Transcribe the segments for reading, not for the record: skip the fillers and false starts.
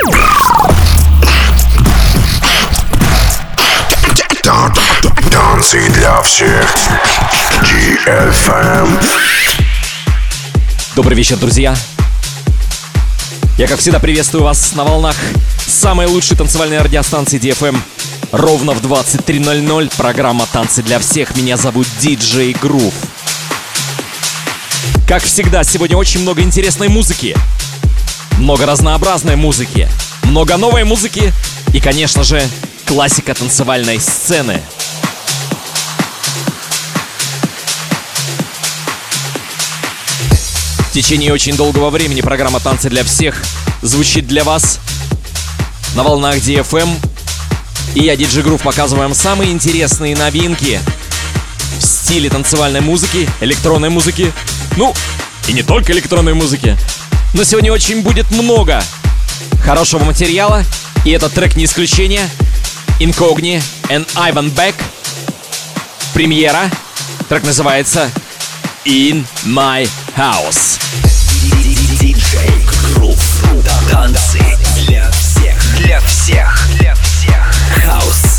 Танцы для всех. DFM. Добрый вечер, друзья. Я, как всегда, приветствую вас на волнах самой лучшей танцевальной радиостанции DFM. Ровно в 23:00 программа «Танцы для всех». Меня зовут DJ Groove. Как всегда, сегодня очень много интересной музыки. Много разнообразной музыки. Много новой музыки. И, конечно же, классика танцевальной сцены. В течение очень долгого времени программа «Танцы для всех» звучит для вас на волнах DFM. И я, DJ Groove, показываю вам самые интересные новинки в стиле танцевальной музыки, электронной музыки. Ну, и не только электронной музыки. Но сегодня очень будет много хорошего материала. И этот трек не исключение. Incogni and Ivan Beck. Премьера. Трек называется In My House. DJ Groove. Танцы для всех. Для всех. Для всех. Хаус.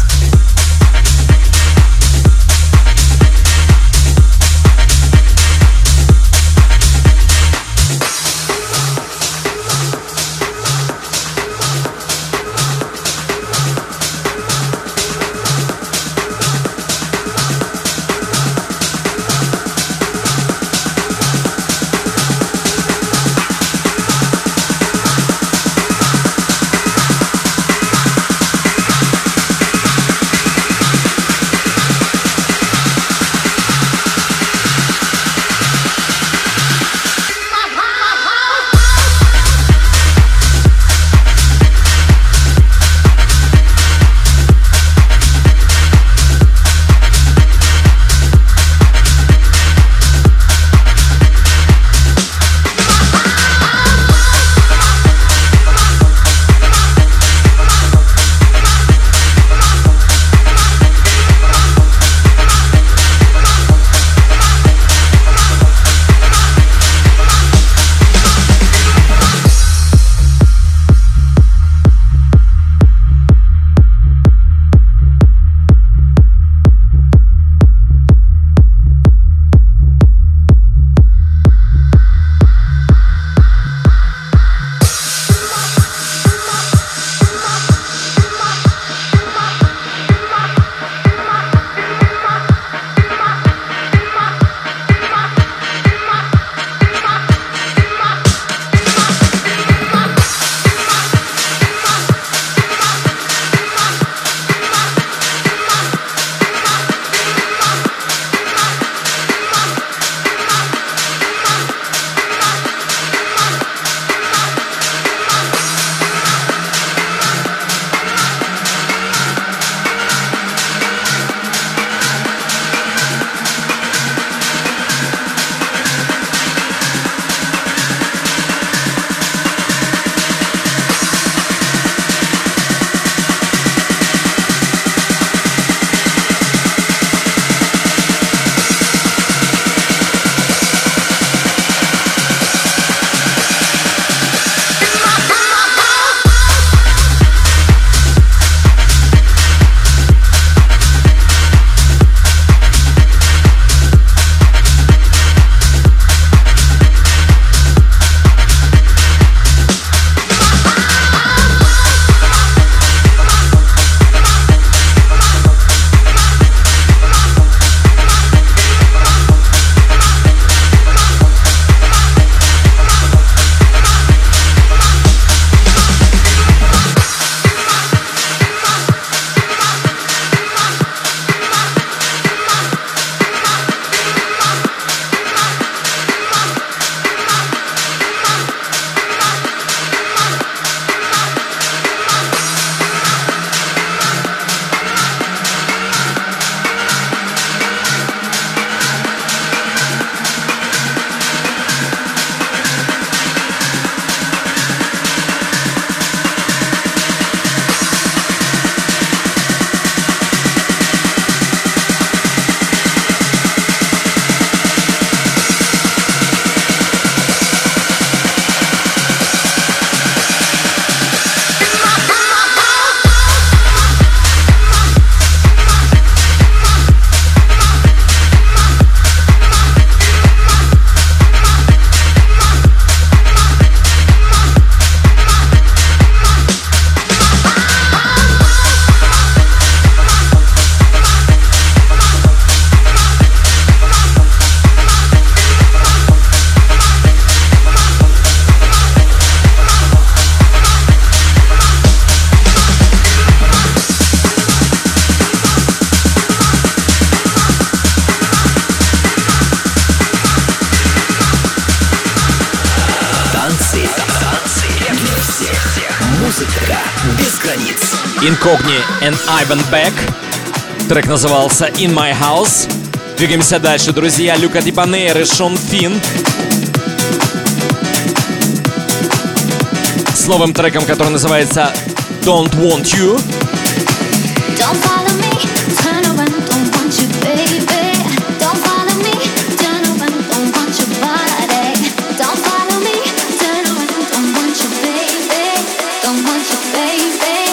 Музыка без границ. Incogni and Ivan Beck. Трек назывался In My House. Двигаемся дальше, друзья. Люка Дибанейр и Шон Финн с новым треком, который называется Don't Want You. Don't follow me, turn around, don't want you, baby. Don't follow me, turn around, don't want your body. Don't follow me, turn around, don't want you, baby. Don't want you, baby.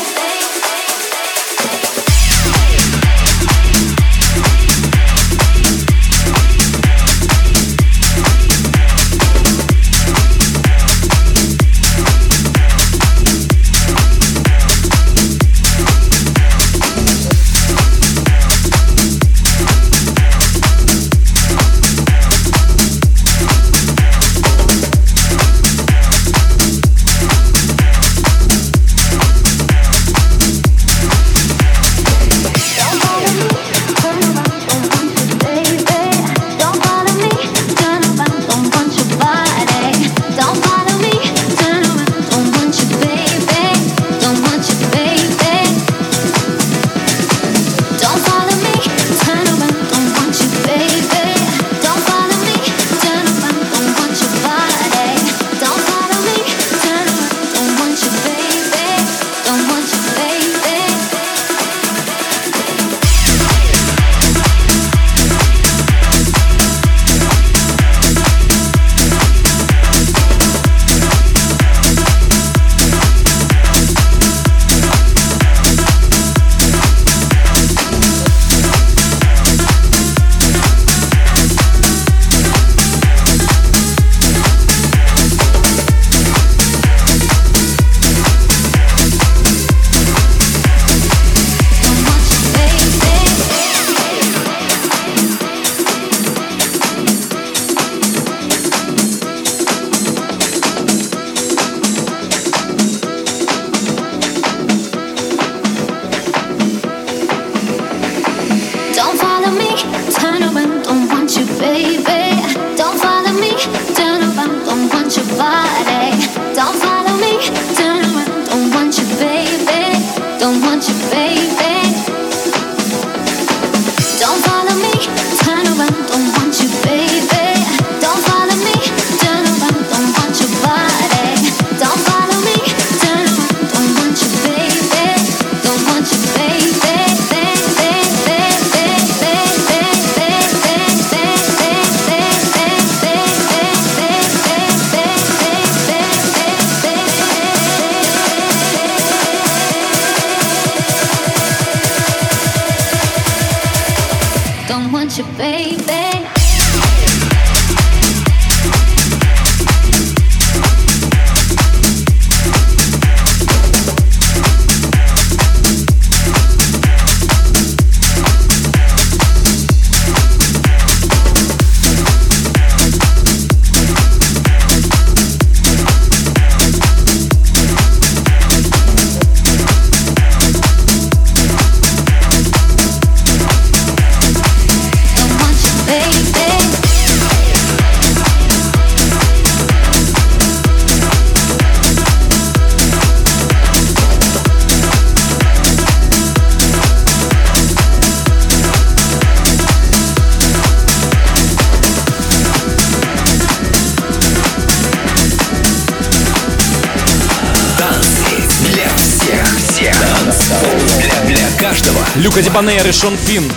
Люка Дибанейр и Шон Финн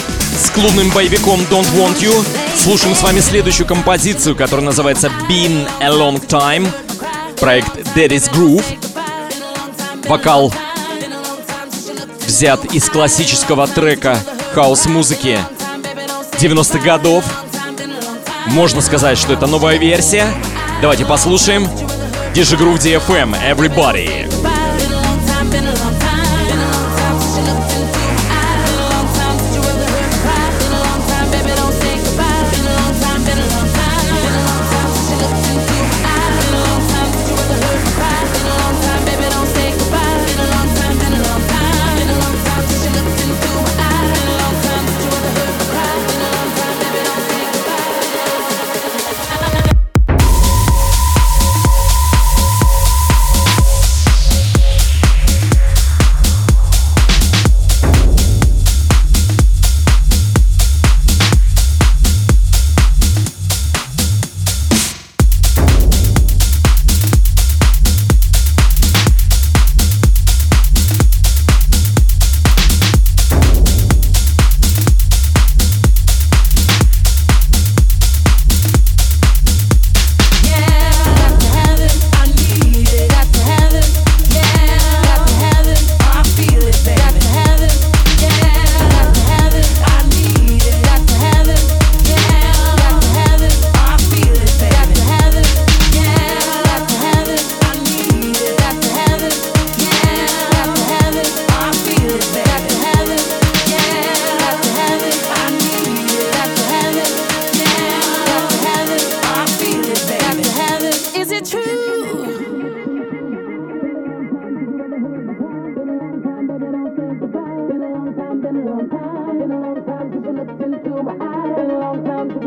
с клубным боевиком Don't Want You. Слушаем с вами следующую композицию, которая называется Been a Long Time. Проект Daddy's Groove. Вокал взят из классического трека хаус-музыки 90-х годов. Можно сказать, что это новая версия. Давайте послушаем. DJ Groove DFM, Everybody.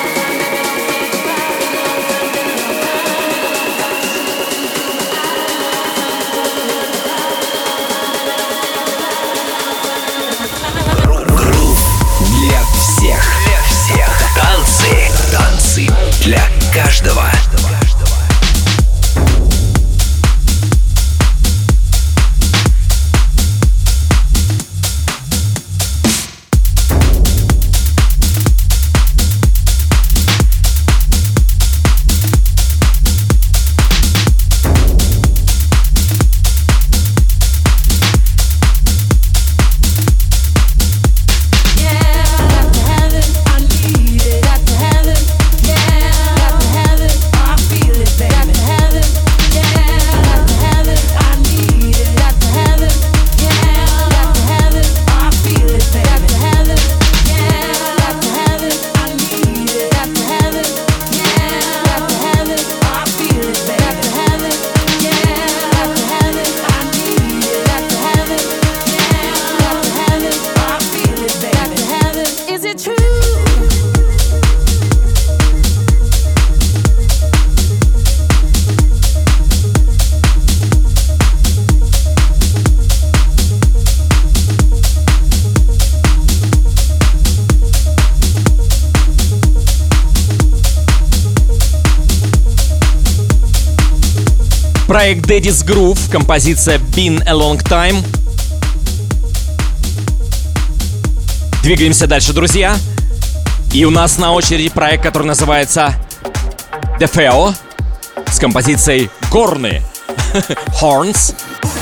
Танцы для каждого. Проект Daddy's Groove, композиция Been a Long Time. Двигаемся дальше, друзья. И у нас на очереди проект, который называется Defeo с композицией Горны Horns.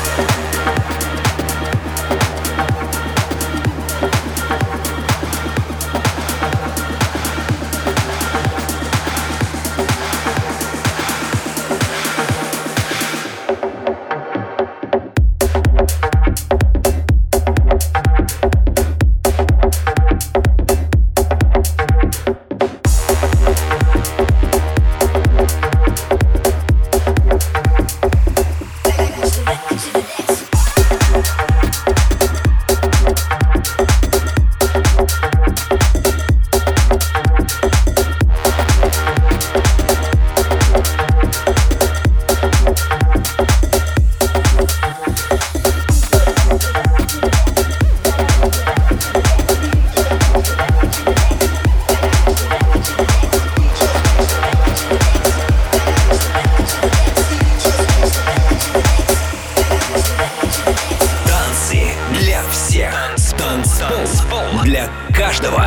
Для каждого.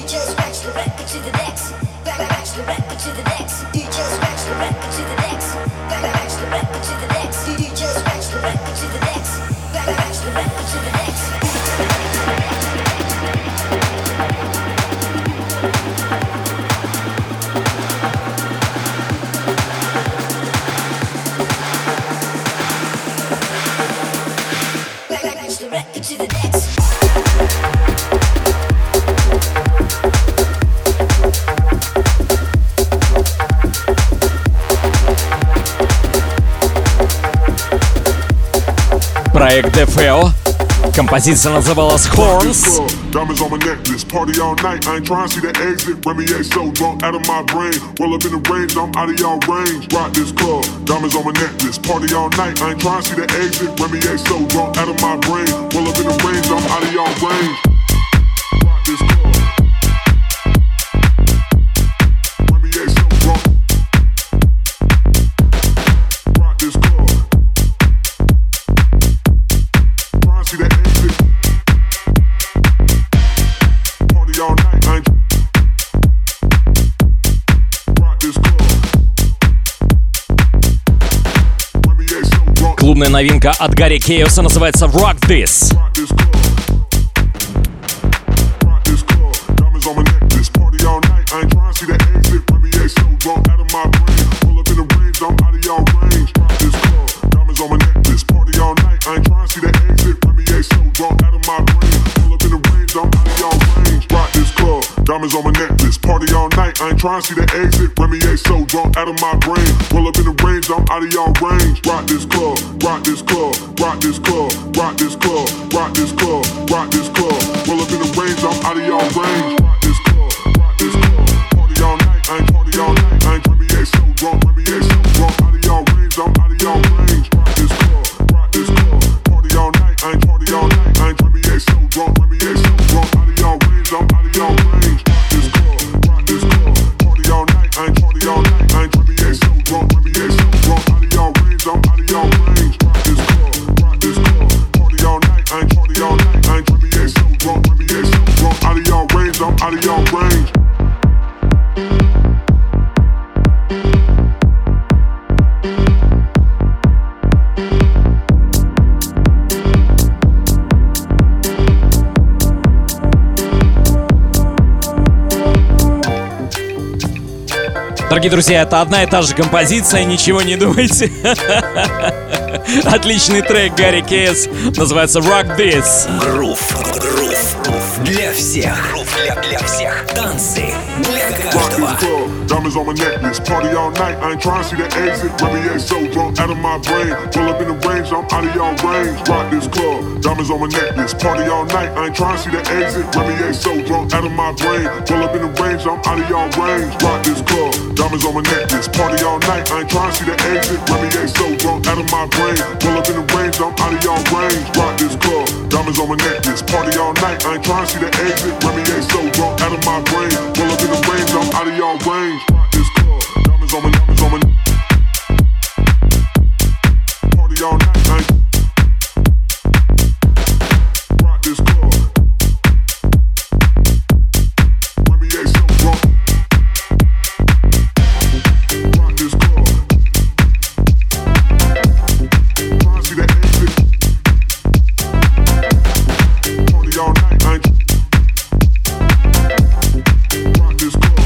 To the next. проект DeFeo. Композиция называлась Horns. Diamonds on my necklace, party all night. I ain't trying to see the exit. Remy A so drunk out of my brain. Well up in the range, I'm out of y'all range. Rock this club, diamonds on my necklace, party all night. I ain't trying to see the exit. Remy A so drunk out of my brain. Well up in the range, I'm out of y'all range. Rock this club. Remy A so drunk. Rock this club. Trying to see the exit. All night, I ain't rock this club. Клубная новинка от Гарри Кейоса называется Rock This. Rock this club. Rock this club. Diamonds on my necklace, party all night. I ain't trying to see the exit. Remy A so drunk out of my brain. Pull up in the range, I'm out of y'all range. Rock this club. Diamonds on my necklace, party all night. I ain't trying to see the exit. Remy A so drunk out of my brain. Pull up in the range, I'm out of y'all range. Rock this club. Diamonds on my necklace, party all night. I ain't trying to see the exit. Remy A so drunk out of my brain. Roll up in the range, I'm out of y'all range. Rock this club, rock this club, rock this club, rock this club, rock this club, rock this club. Roll up in the range, I'm out of y'all range. Rock this club, rock this club, party all night. I ain't party all night. I ain't Remy A so drunk, Remy A so drunk out of y'all range. I'm out of y'all range. Rock this club, party all night. I ain't party all night. I ain't Remy A so drunk, Remy A so drunk out of y'all range. I'm out of y'all range. Rock this club, party all night. I ain't party all night. I ain't Remy A so drunk, Remy A so drunk out of y'all range. I'm out of y'all range. Rock this club, party all night. I ain't party all night. I ain't Remy A so drunk, Remy A so drunk out of y'all range. I'm out of y'all range. Дорогие друзья, это одна и та же композиция, ничего не думайте. Отличный трек Гарри Кейс, называется Rock This. Грув для всех. Для всех. Танцы для каждого. Diamonds on my necklace, party all night. I ain't trying to see the exit. Remy A so drunk out of my brain. Pull up in the range, I'm out of y'all range. Rock this club. Diamonds on my necklace, party all night. I ain't trying to see the exit. Remy A so drunk out of my brain. Pull up in the range, I'm out of y'all range. Rock this club. Diamonds on my necklace, party all night. I ain't trying to see the exit. Remy A so drunk out of my brain. Pull up in the range, I'm out of y'all range. Rock this club. Diamonds on my necklace, party all night. I ain't trying to see the exit. Remy A so drunk out of my brain. Pull up in the range, I'm out of y'all range. Rock this club. Diamonds on my party all night. I ain't rock this club. Remy A so drunk. Rock this club. Trying to see the exit. Party all night. I ain't rock this club.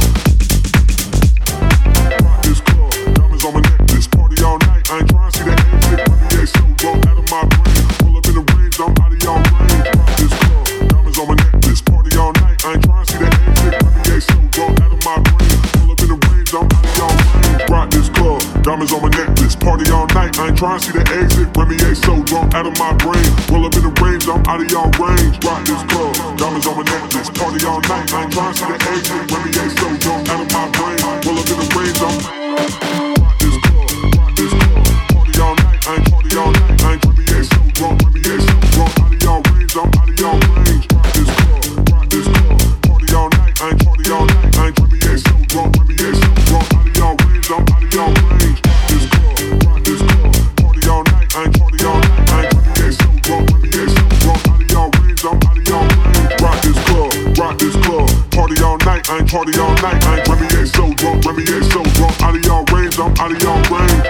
Rock this club. Diamonds on my necklace. Party all night. I ain't trying to see the exit. Remy A so drunk out of my brain. Pull up in the range. I'm out of y'all range. Rock this club. Diamonds on my necklace. Party all night. I ain't trying to see the exit. Remy A so drunk out of my brain. Pull up in the range. I'm out of y'all range. Rock this club. Diamonds on my necklace. Party all night. I ain't trying to see the exit. Remy A so drunk out of my brain. Pull up in the range. I'm out of y'all range. Rock this club. Diamonds on my necklace. Party all night. I ain't trying to see the exit. Remy A so drunk out of my brain. Pull up in the range. I'm rock this club. Rock this club. Party all night. I ain't party all night. I ain't Remy A so drunk. Remy A so drunk out of y'all range. I'm out of y'all range. Rock this club. Rock this club. Party all night. I ain't party all night. I ain't Remy A so drunk. Remy A so drunk out of y'all range. I'm out of y'all range. Rock this club. Rock this club. Party all night. I ain't party all night. I ain't Remy A so drunk. Remy A so drunk out of y'all range. I'm out of y'all range. Rock this club. Rock this club. Party all night. I ain't party all night. I ain't Remy A so drunk. Remy A so drunk out of y'all range. I'm out of y'all range.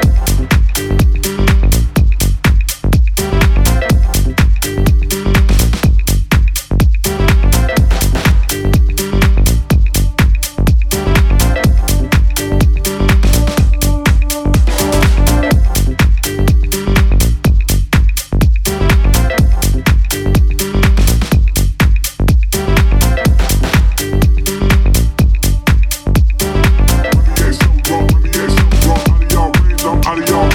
Remy A so drunk. Remy A so drunk out of y'all range. I'm out of y'all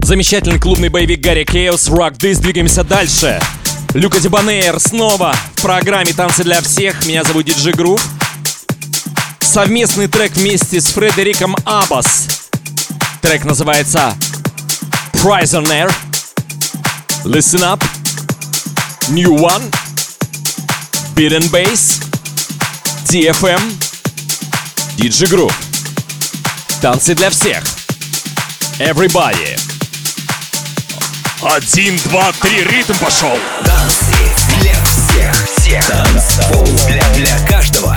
Замечательный клубный боевик Гарри Chaos, Rock This. Двигаемся дальше. Люка Дебонейр снова в программе «Танцы для всех». Меня зовут DJ Groove. Совместный трек вместе с Фредериком Аббас. Трек называется Prisoner. Listen up. New One. Beat and Bass. DFM. DJ Groove. Танцы для всех. Everybody. 1, 2, 3, ритм пошел. Танцы для всех. Танцпол для каждого.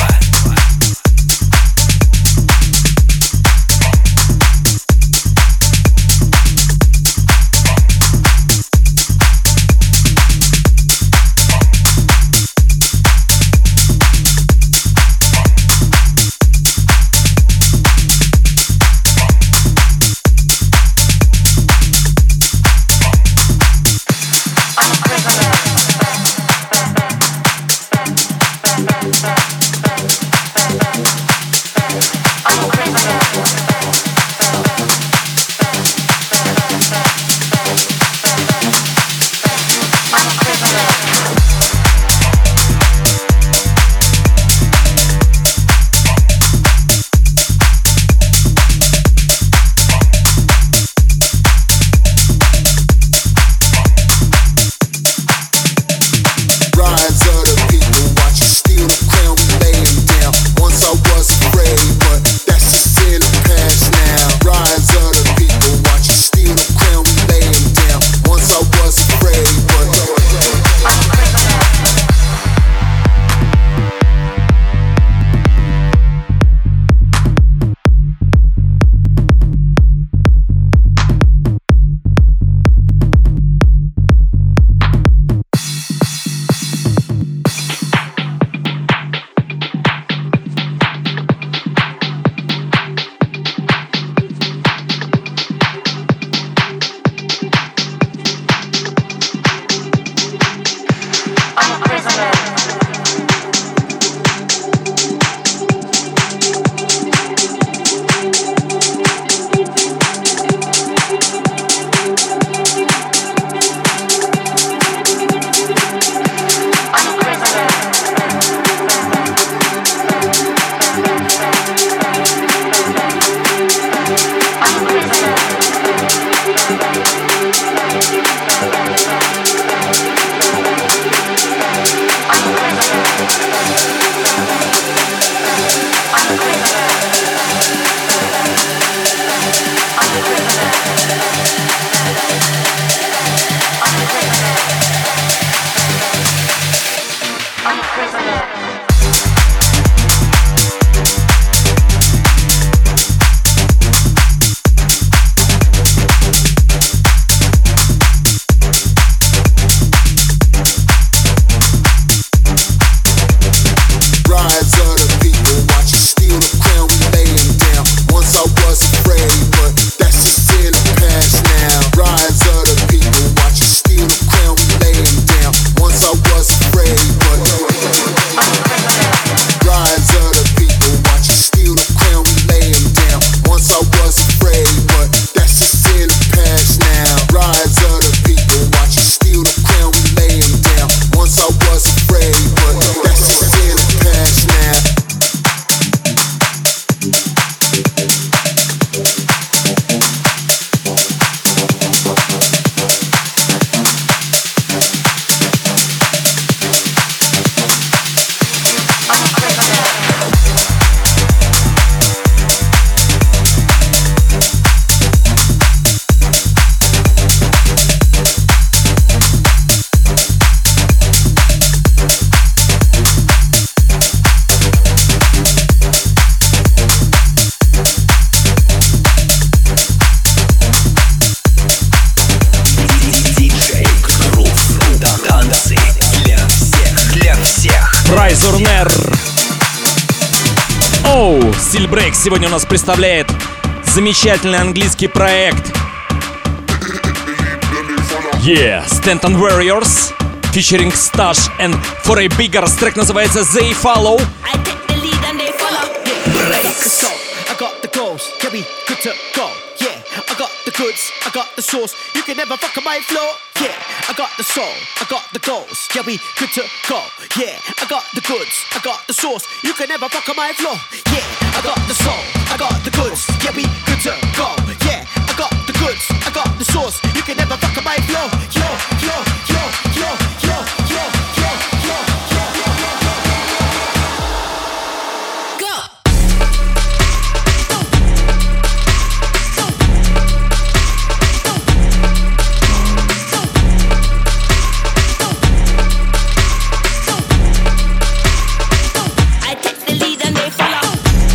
Steel Break сегодня у нас представляет замечательный английский проект Stanton Warriors featuring Stash and For a Bigger. Трек называется They Follow. I take the lead and they follow. Breaks. I got the goals, yeah, we good to go. Yeah, I got the goods, I got the sauce. You can never fuck on my flow. Yeah, I got the soul, I got the goals. Yeah, we good to go. Yeah, I got the goods, I got the sauce. You can never fuck on my flow. Yeah, I got the soul, I got the goods. Yeah, we good to go. Yeah, I got the goods, I got the sauce. You can never fuck on my flow. Yo, yo, yo, yo, yo, yo, yo, yo, yo, yo, yo. Go. I take the lead and they follow.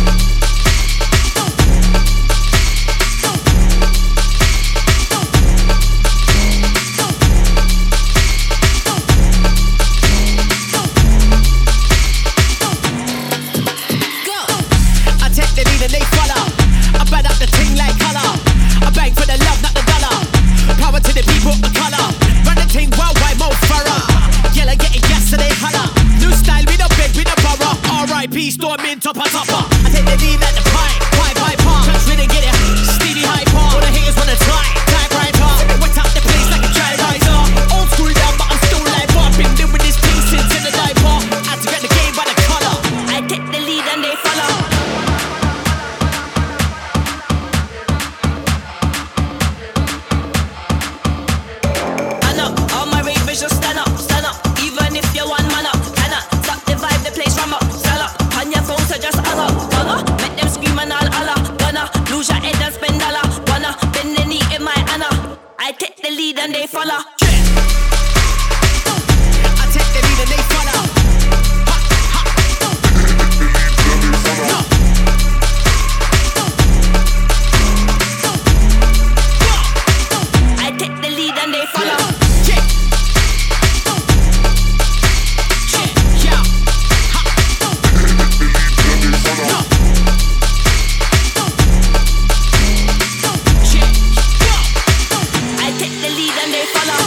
I take the lead and they follow. I bang up the ting like colour. I bang for the love, not the dollar. Power to the people of color. Run the ting worldwide, Mo Farah. Yellow getting gas so they holler. New style, we don't beg, we don't borrow. R.I.P. Stormin' topper topper. I take the lead like the pie, pie, pie, pie. Touch really get it, steady high par. All the haters wanna try, type right hard. Wet out the place like a dry riser. Old school down, but I'm still live up. Been doing this thing since in the diaper. Had to get the game by the color. I take the lead and they follow. I know all my ravers just stand up, stand up. Even if you're one man up, cannot stop the vibe, the place rum up, sell up. On your phone, so just hang up, gonna make them scream and all Allah. Gonna lose your head and spend dollar. Wanna bend the knee in my Anna. I take the lead and they follow. I take the lead and they follow. Ha, ha. No. I take the lead and they follow. Yeah. Yeah, yeah. Ha. No. Yeah, yeah. I take the lead and they follow.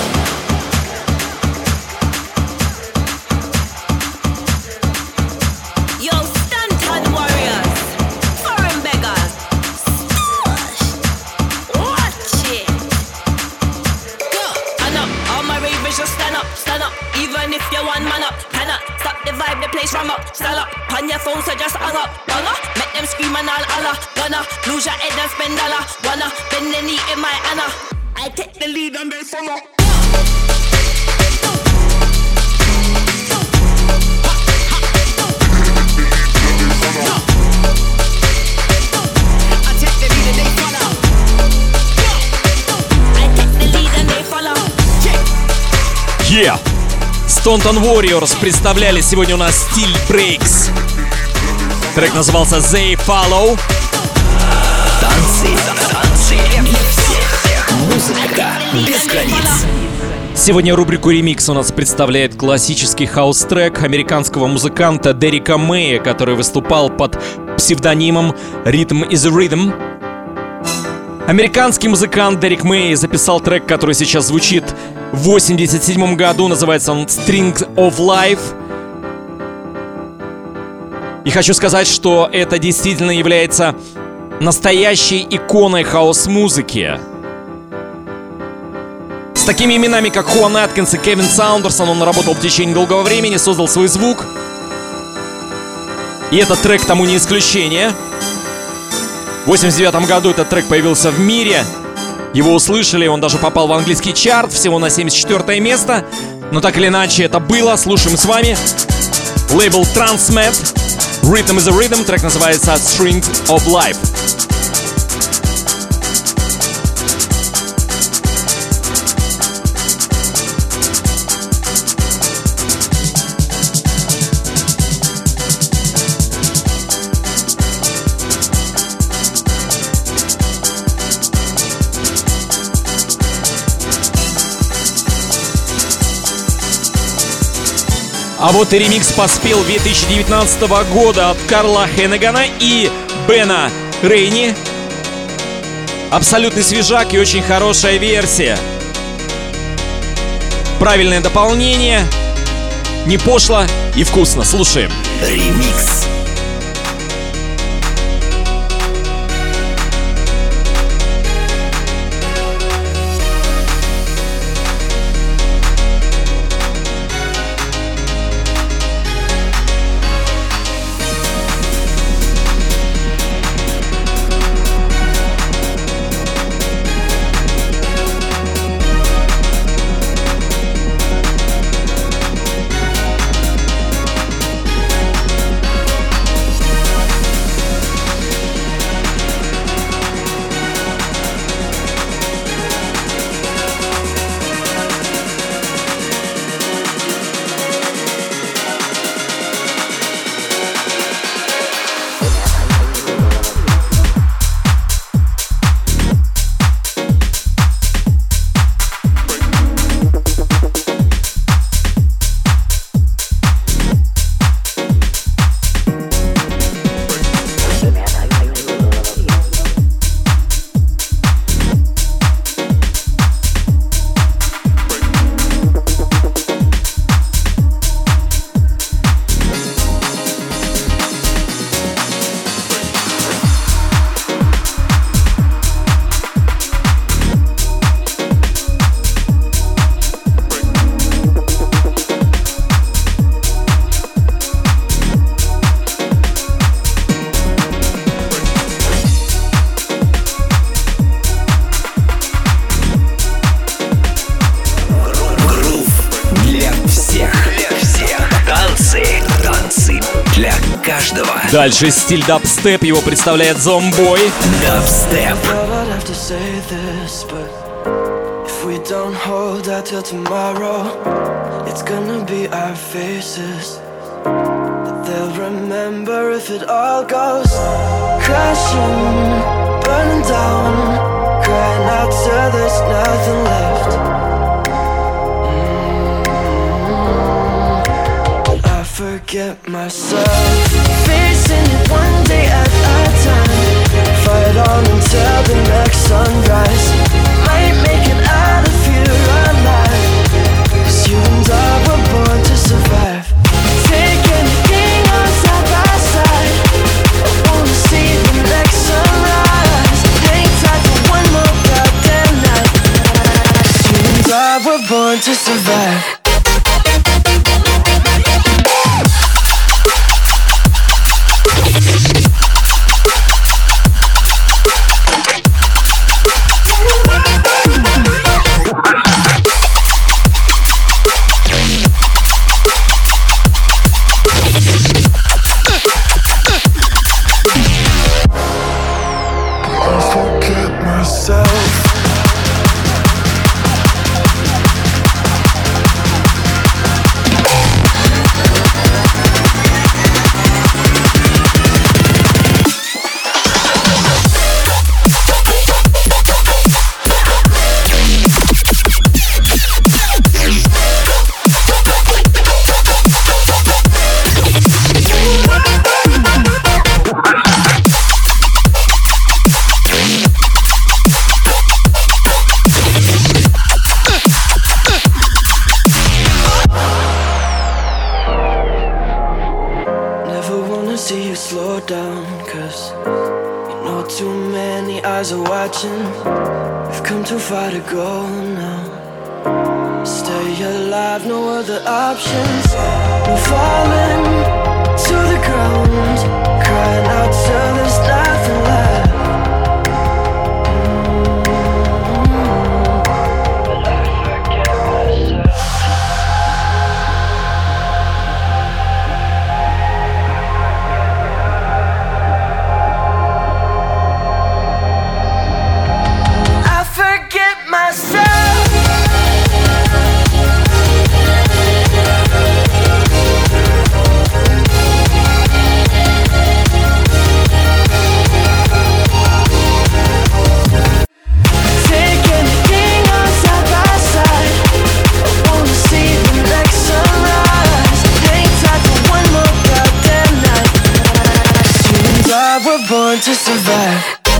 Yo, Stanton warriors, foreign beggars, Stash. Watch it. Go. I know all my ravers just stand up, stand up. Even if you're one man up, cannot stop the vibe, the place rum up, stand up. On your phone, so just hang up, gonna make them scream and all Allah. Gonna lose your head and spend dollar. Wanna bend the knee in my Anna. I take the lead and they follow. No. I take the lead and they follow. I take the lead and they follow. Yeah! Stanton Warriors представляли сегодня у нас стиль Breaks. Трек назывался They Follow. Танцы для всех. Музыка без границ. Сегодня рубрику «Ремикс» у нас представляет классический хаус-трек американского музыканта Дерека Мэя, который выступал под псевдонимом Rhythm is a Rhythm. Американский музыкант Дерек Мэй записал трек, который сейчас звучит в 1987 году. Называется он «Strings of Life». И хочу сказать, что это действительно является настоящей иконой хаос-музыки. С такими именами, как Хуан Аткинс и Кевин Саундерсон, он работал в течение долгого времени, создал свой звук. И этот трек тому не исключение. В 1989 году этот трек появился в мире. Его услышали, он даже попал в английский чарт, всего на 74 место. Но так или иначе это было. Слушаем с вами. Лейбл Transmet. Rhythm is a Rhythm. Трек называется Strings of Life. А вот и ремикс поспел 2019 года от Карла Хеннегана и Бена Рейни. Абсолютный свежак и очень хорошая версия. Правильное дополнение. Не пошло и вкусно. Слушаем. Ремикс. каждого. Дальше стиль дабстеп, его представляет Зомбой. Дабстеп. If we don't hold out till tomorrow, it's gonna be our faces that they'll remember if it all goes crashing, burning down, crying out till there's nothing left. But I forget myself, facing it one day at a time. Fight on until the next sunrise. Might make it out of here alive, 'cause you and I were born to survive. Take anything on side by side. I wanna see the next sunrise. Hang tight for one more goddamn night, 'cause you and I were born to survive. We've come too far to go now. Stay alive, no other options. No falling to the ground, crying out till there's nothing left. But I forget myself. Born to survive.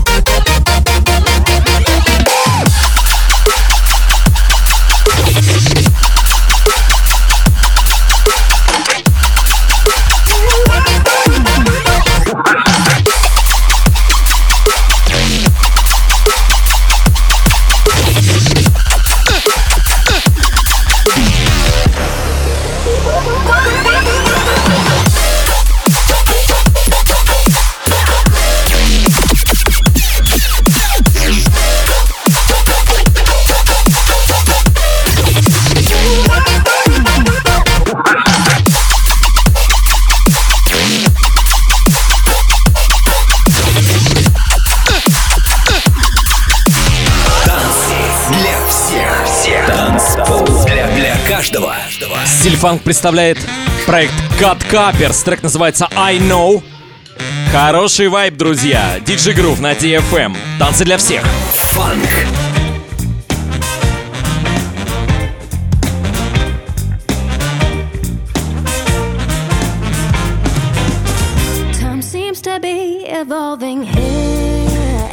Стиль фанк представляет проект Cut Capers. Трек называется I Know. Хороший вайб, друзья. DJ Groove на DFM. Танцы для всех. Фанк. Time seems to be evolving here.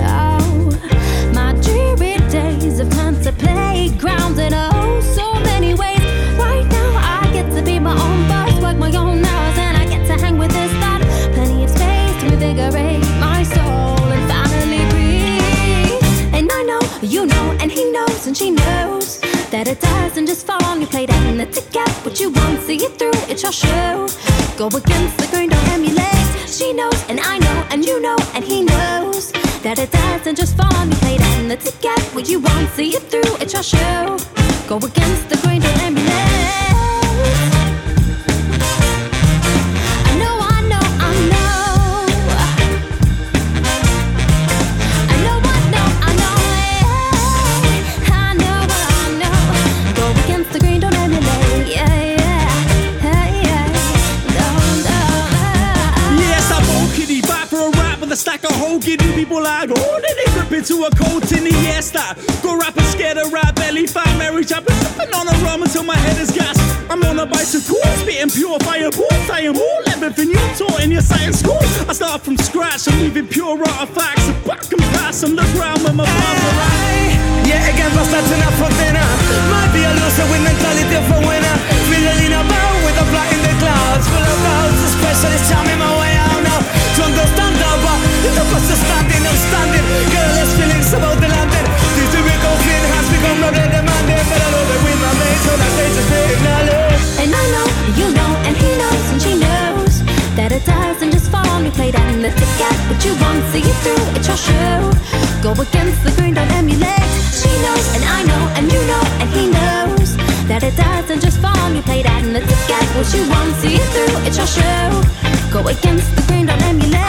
My dreary days have turned to playgrounds in oh so many ways. Right now I get to be my own boss, work my own hours, and I get to hang with this thought. Plenty of space to invigorate my soul and finally breathe. And I know, you know, and he knows and she knows that it doesn't just fall on your plate and to get what you want, see it through, it's your show. Go against the grain, don't emulate. She knows and I know and you know and he knows that it doesn't just fall on your plate and to get what you want, see it through, it's your show. Go against the grain, don't emulate. I know, the stack of whole giddy people I go, oh, then they grip into a cold tin the fiesta. Go rapping scared of rap belly fat Mary chopping, sipping on a rum until my head is gas. I'm on a bicycle, spitting pure fireballs. I am all everything you taught in your science school. I start from scratch, I'm leaving pure artifacts. So back and pass on the ground when my bars are right. Yeah, again, bust that in a frontina. Might be a loser with mentality of a winner. Feeling about with a fly in the clouds. Full of doubts, especially charming my way out now. To understand how, but it's a process standing, I'm standing. Girlless feelings about the landing. This typical feeling has become more than demanding. But I love it with my mates, so that they just big knowledge. And I know, you know, and he knows, and she knows that it doesn't just fall on you. Play that in the ticket, but you won't see it through. It's your show. Go against the grain, don't emulate. She knows, and I know, and you know, and he knows that it doesn't just fall on you. Play that in the ticket, but you won't see it through. It's your show. Go against the grain, don't emulate.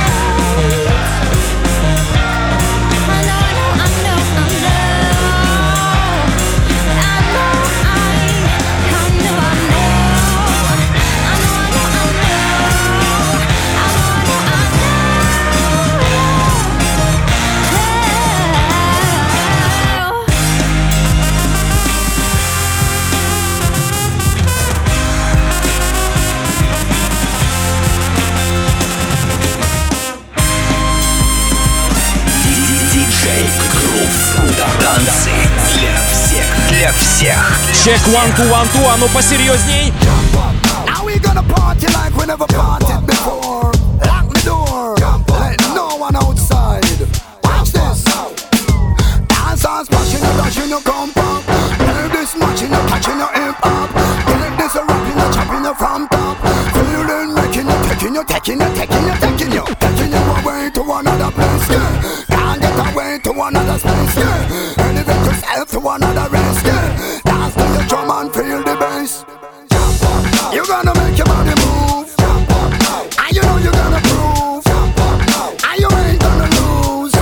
Танцы для всех, для всех. Чек 1, 2, 1, 2, а ну посерьезней. Now we gonna party like we never partied before. Lock the door, let no one outside. Watch this. Dance on smashing, dashing, come pop. Hear this matching, catching your hip hop. Hear this rapping, chopping from top. Feeling making you, taking you, taking you, taking you, taking you, taking you away to another place. Yeah. Can't get away to another space. Yeah. Elevate yourself to another race. Yeah. Dance to your drum and feel the bass. You're gonna make your body move. And you know you're gonna prove. And you ain't gonna lose.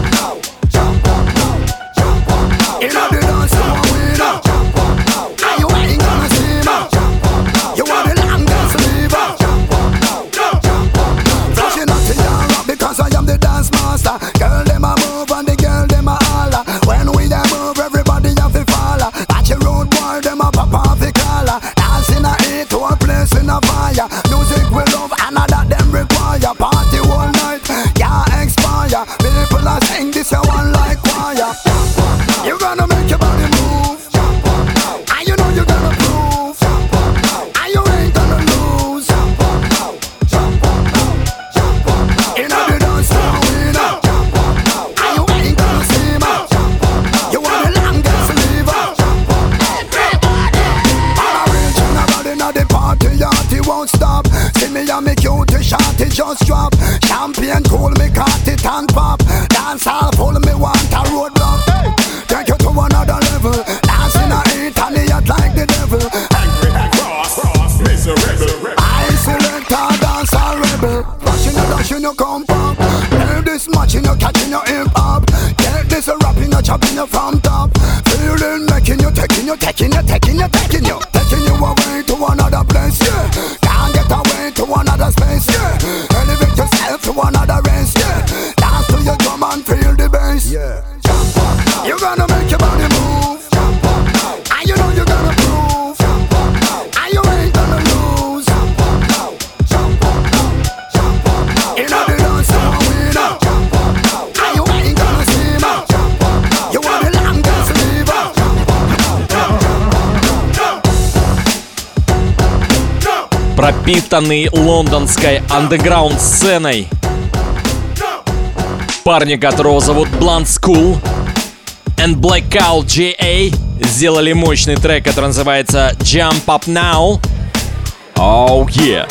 You know the dance you want winner. And you ain't gonna see me. You want the longest lever. Flashing up to your rock because I am the dance master. Girl, them a move and the girl, them a holler. When we a move, everybody have to follow. Watch your road boy, them a pop off the collar. Dancing a heat to a place in a fire. Music we love and that them require. Party all night, can't expire. People are sing this a one like choir. You gonna make your body move. And you know you gonna prove. And you ain't gonna lose. You know the dance floor winner. And you ain't gonna see me. You want the longest lever. Inna the party, yachty won't stop. See me and me cutie shorty just drop. Champagne cool, me cut it and pop. Dance all full, me want a roadblock. Hey, take you to another level. Dancing a heat and the yacht like the devil. Angry and cross, miserable. I select a dance a rebel. Rushing you, dashing you, come pop. Hear this matching you, catching your hip hop. Get this rapping you, chopping you from top. Feeling making you, taking you, taking you, taking you, taking you. Taking you away to another place, yeah. Can't get away to another space, yeah. Elevate yourself to another race, yeah. Dance to your drum and feel the bass, yeah. You're gonna make your body move. And you know you're gonna prove. And you ain't gonna lose. You know the dance you want winner. And you ain't gonna see me. You want the longest lever. Пропитанный лондонской андеграунд-сценой. Парни, которого зовут Blunt School and Blackout J.A. сделали мощный трек, который называется Jump Up Now. Oh yeah.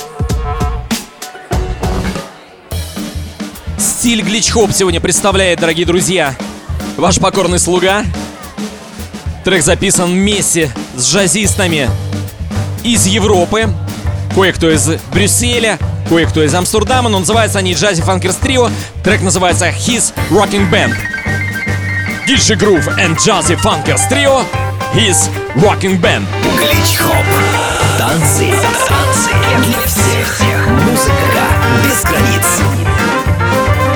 Стиль глич-хоп сегодня представляет, дорогие друзья, ваш покорный слуга. Трек записан вместе с джазистами из Европы. Кое-кто из Брюсселя, кое-кто из Амстердама, но называются они Jazzy Funkers Trio. Трек называется His Rocking Band. DJ Groove and Jazzy Funkers Trio, His Rocking Band. Глич-хоп. Танцы для всех. Музыка без границ.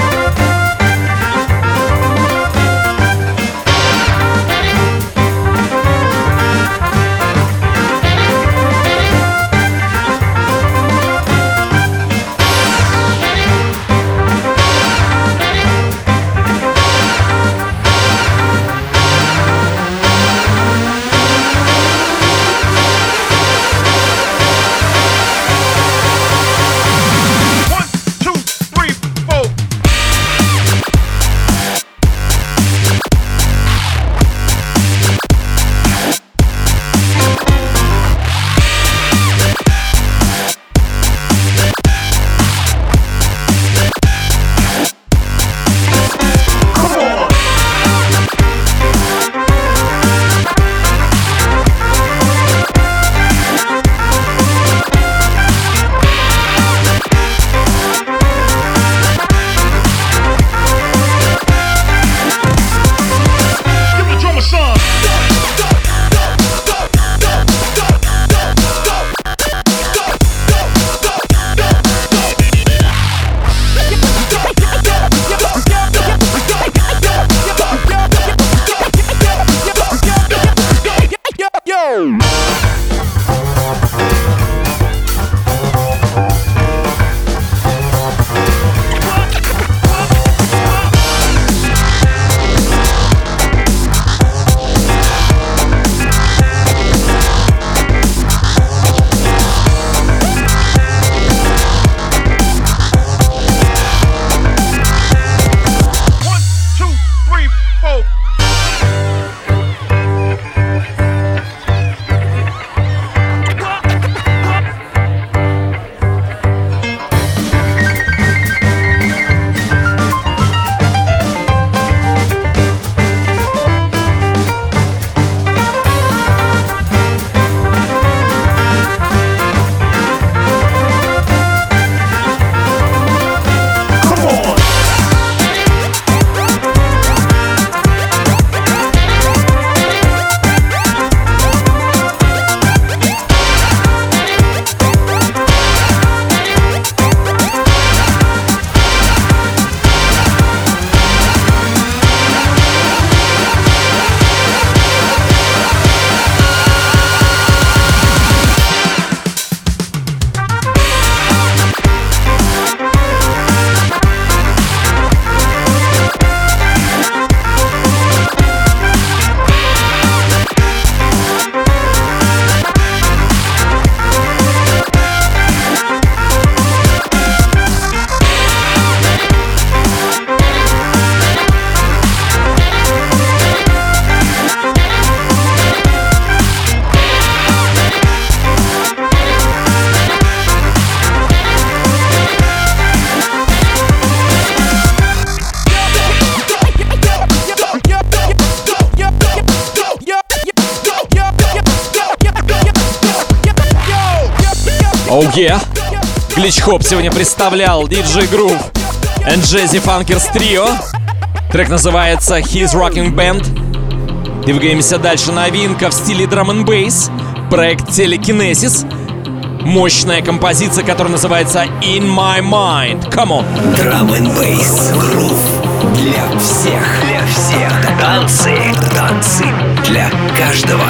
Oh yeah! Глич-хоп сегодня представлял DJ Groove and Jazzy Funkers Trio. Трек называется His Rocking Band. Двигаемся дальше. Новинка в стиле Drum and Bass. Проект Telekinesis. Мощная композиция, которая называется In My Mind. Come on! Drum and Bass Groove для всех. Для всех. Танцы для каждого.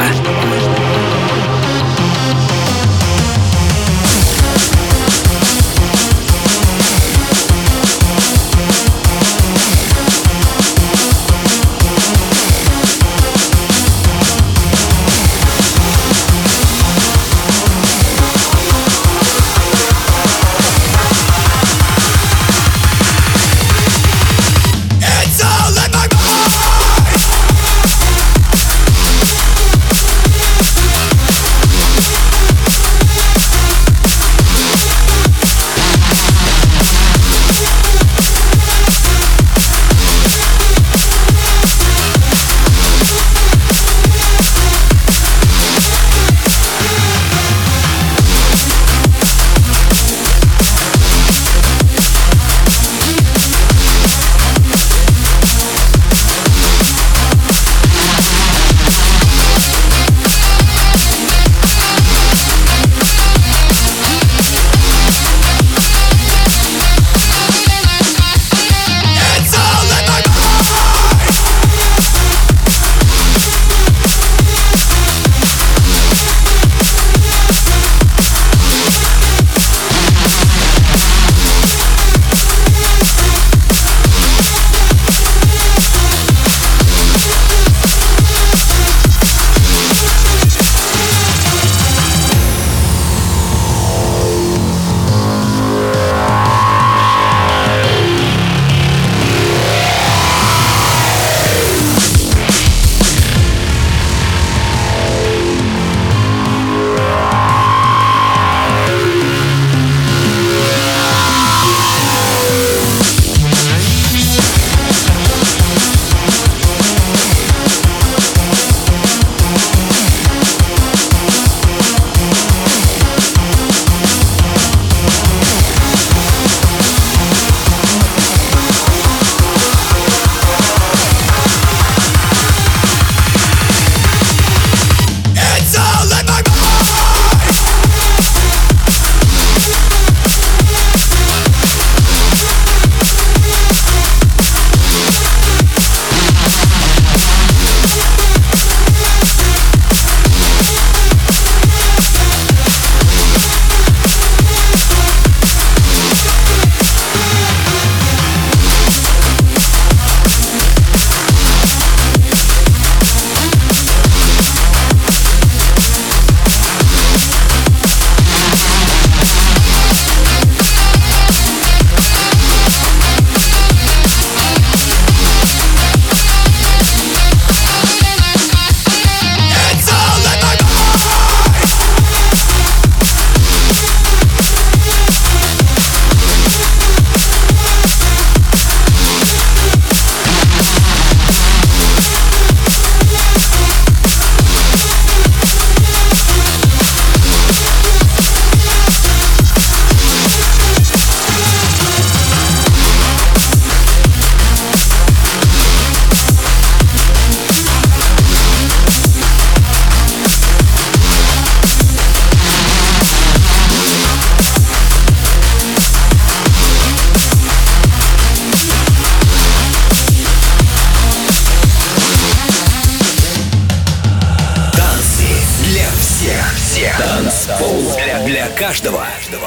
Для каждого.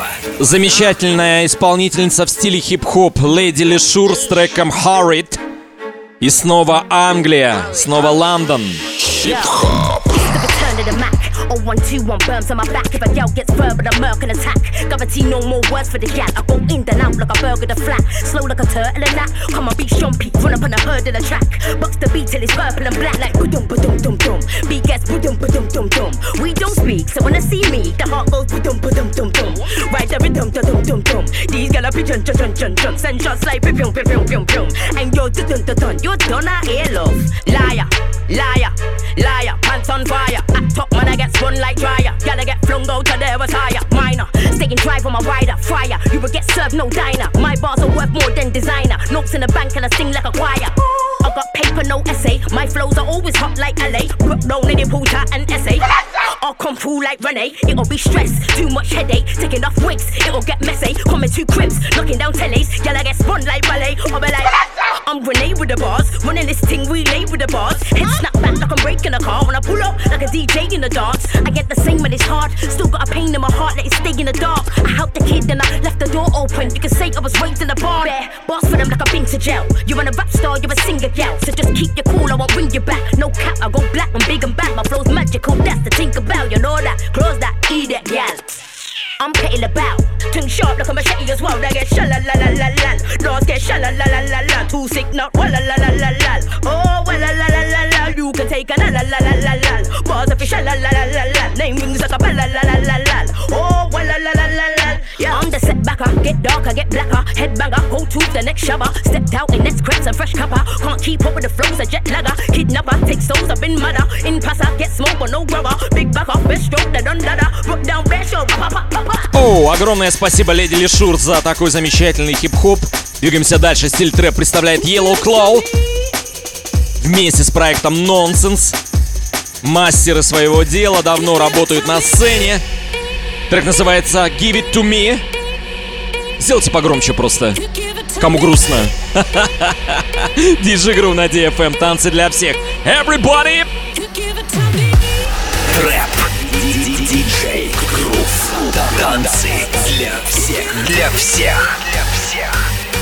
Замечательная исполнительница в стиле хип-хоп Lady Leshurr с треком Hurried. И снова Англия, снова Лондон. Хип-хоп. 1, 2, 1 burns on my back. If a girl gets verbal, I'm murk and attack. Guarantee no more words for the gal. I go in and out like a burger to flat. Slow like a turtle and that. Come on, beat Shumpy, run up on the herd of the track. Box the beat till it's purple and black. Like ba-dum, ba-dum, dum, dum. Beat gets ba-dum, ba-dum, dum, dum. We don't speak, so when I see me, the heart goes ba-dum, ba-dum, dum, dum. Ride the rhythm, da-dum, dum, dum. These gal are pigeon, jun, jun, jun. Send shots like pium, pium, pium, pium. And you're dun, dun, dun, dun. You're done, I hear love. Liar, liar, liar. pants on fire. Act up, man, I get spun like dryer. Gotta get flung out to there was higher. Minor, staying dry for my rider. Fryer, you will get served no diner. My bars are worth more than designer. Notes in the bank and I sing like a choir. I got paper, no essay. My flows are always hot like LA. Put down in the puta and essay. I'll come through like Renee. It'll be stress, too much headache. Taking off wigs, it'll get messy. Coming to cribs, knocking down tellies. Girl, I get spun like ballet. I'll be like, I'm grenade with the bars. Running this thing, relay with the bars. Head snap back like I'm breaking a car. When I pull up like a DJ in the dance. I get the same when it's hard. Still got a pain in my heart, let it stay in the dark. I helped the kid, then I left the door open. You can say I was raised in the barn. Bare bars for them like I've been to jail. You're a rap star, you're a singer gal. So just keep your cool, I won't bring you back. No cap, I go black, I'm big and back. My flow's magical, that's the think about. You know that, close that, eat that, gal. I'm petting about, tongue sharp like a machete as well. I get sha-la-la-la-la-la, doors get sha-la-la-la-la-la. Too sick, not wa-la-la-la-la-la. Oh, wa-la-la-la-la-la, you can take a la-la-la-la-la-la. Bars of a sha-la-la-la-la-la, name rings like a ba-la-la-la-la-la. Oh, wa-la-la-la-la-la. Yeah, I'm the setbacker, get darker, get blacker. Headbanger, go to the next shabba. Stepped out in next crepes and fresh copper. Can't keep up with the flows, a jet lagger. Kidnapper, take souls, I've been mother. In passer, get smoke but no rubber. Big backer, best stroke, they done ladder. Rock down, best show, pa-pa-pa-pa. Оу, огромное спасибо Леди Лишур за такой замечательный хип-хоп. Двигаемся дальше. Стиль трэп представляет Yellow Claw вместе с проектом Nonsense. Мастеры своего дела, давно работают на сцене. Трек называется Give It To Me. Сделайте погромче просто. Кому грустно. DJ Groove на DFM. Танцы для всех. Everybody! Трэп. DJ Groove. Танцы для всех. Для всех. Для всех.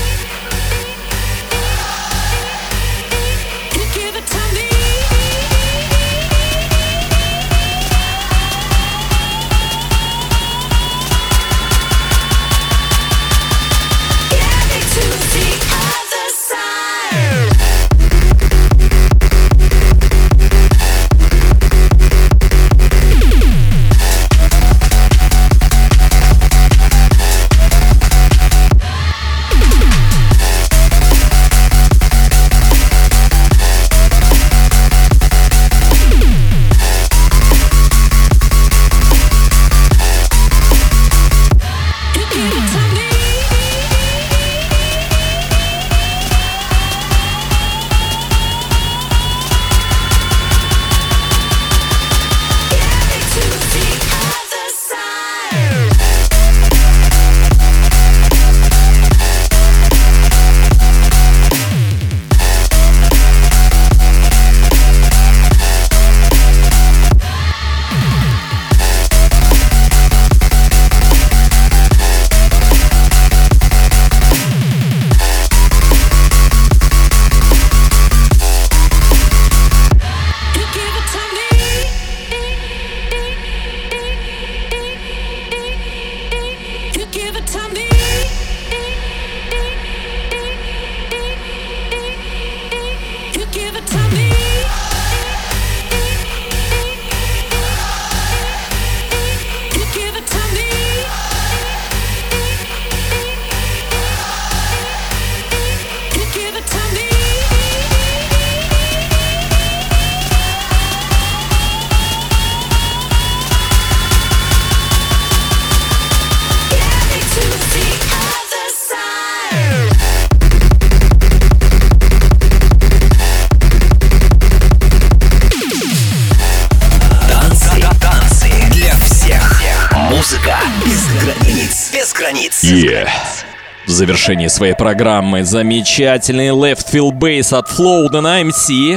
В завершении своей программы замечательный Left Field Bass от Flow на MC.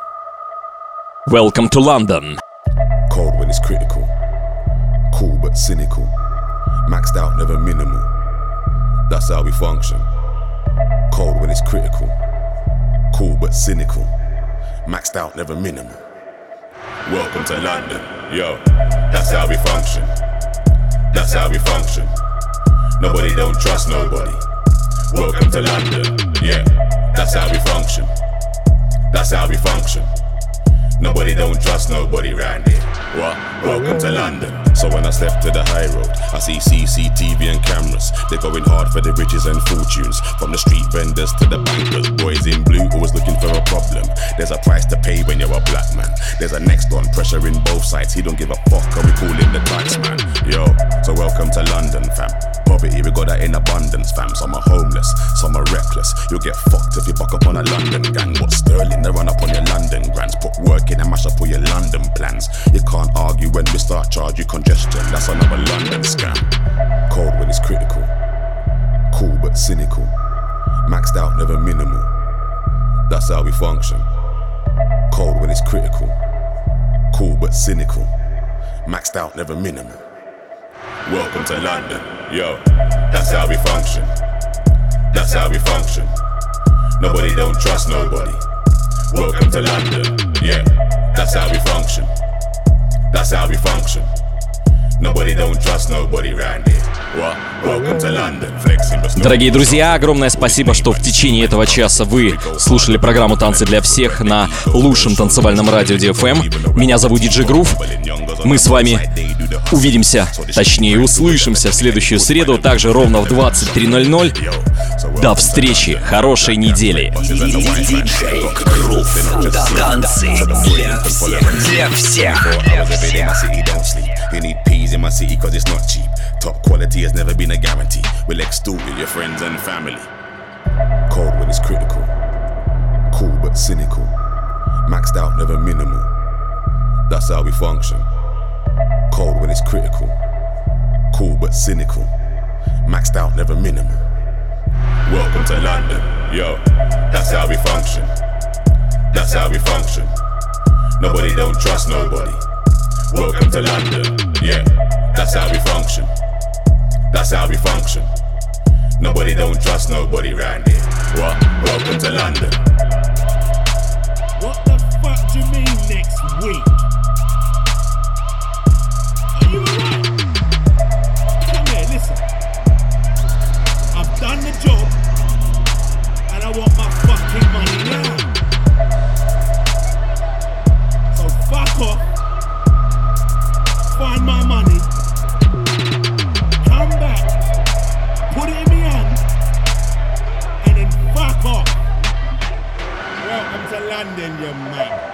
Welcome to London. Cold when it's critical, cool but cynical, maxed out never minimal. That's how we function. Cold when it's critical, cool but cynical, maxed out never minimal. Welcome to London, yo. That's how we function. That's how we function. Nobody don't trust nobody. Welcome to London, yeah. That's how we function. That's how we function. Nobody don't trust nobody round here. What? Welcome to London. So when I step to the high road, I see CCTV and cameras. They're going hard for the riches and fortunes. From the street vendors to the bankers. Boys in blue always looking for a problem. There's a price to pay when you're a black man. There's a next on, pressure in both sides. He don't give a fuck, and we call him the tax man. Yo, so welcome to London, fam. Poverty, we got that in abundance, fam. Some are homeless, some are reckless. You'll get fucked if you buck up on a London gang. What Sterling, they run up on your London grants. Put work in and mash up all your London plans. You can't argue when we start charge you congestion. That's another London scam. Cold when it's critical. Cool but cynical. Maxed out, never minimal. That's how we function. Cold when it's critical. Cool but cynical. Maxed out, never minimal. Welcome to London, yo. That's how we function. That's how we function. Nobody don't trust nobody. Welcome to London, yeah. That's how we function. That's how we function. Nobody don't trust nobody round here. What? Welcome to London. Дорогие друзья, огромное спасибо, что в течение этого часа вы слушали программу «Танцы для всех» на лучшем танцевальном радио DFM. Меня зовут DJ Groove. Мы с вами увидимся, точнее услышимся в следующую среду, также ровно в 23:00. До встречи, хорошей недели. Танцы для всех, для всех. You need peas in my city cause it's not cheap. Top quality has never been a guarantee. We'll extort with your friends and family. Cold when it's critical. Cool but cynical. Maxed out, never minimal. That's how we function. Cold when it's critical. Cool but cynical. Maxed out, never minimal. Welcome to London, yo. That's how we function. That's how we function. Nobody don't trust nobody. Welcome to London, yeah. That's how we function. That's how we function. Nobody don't trust nobody round here. What? Welcome to London. What the fuck do you mean next week? Are you alright? Come here, listen. I've done the job and I want my fucking money now. So fuck off. Find my money. Come back. Put it in my hand. And then fuck off. Welcome to London, you man.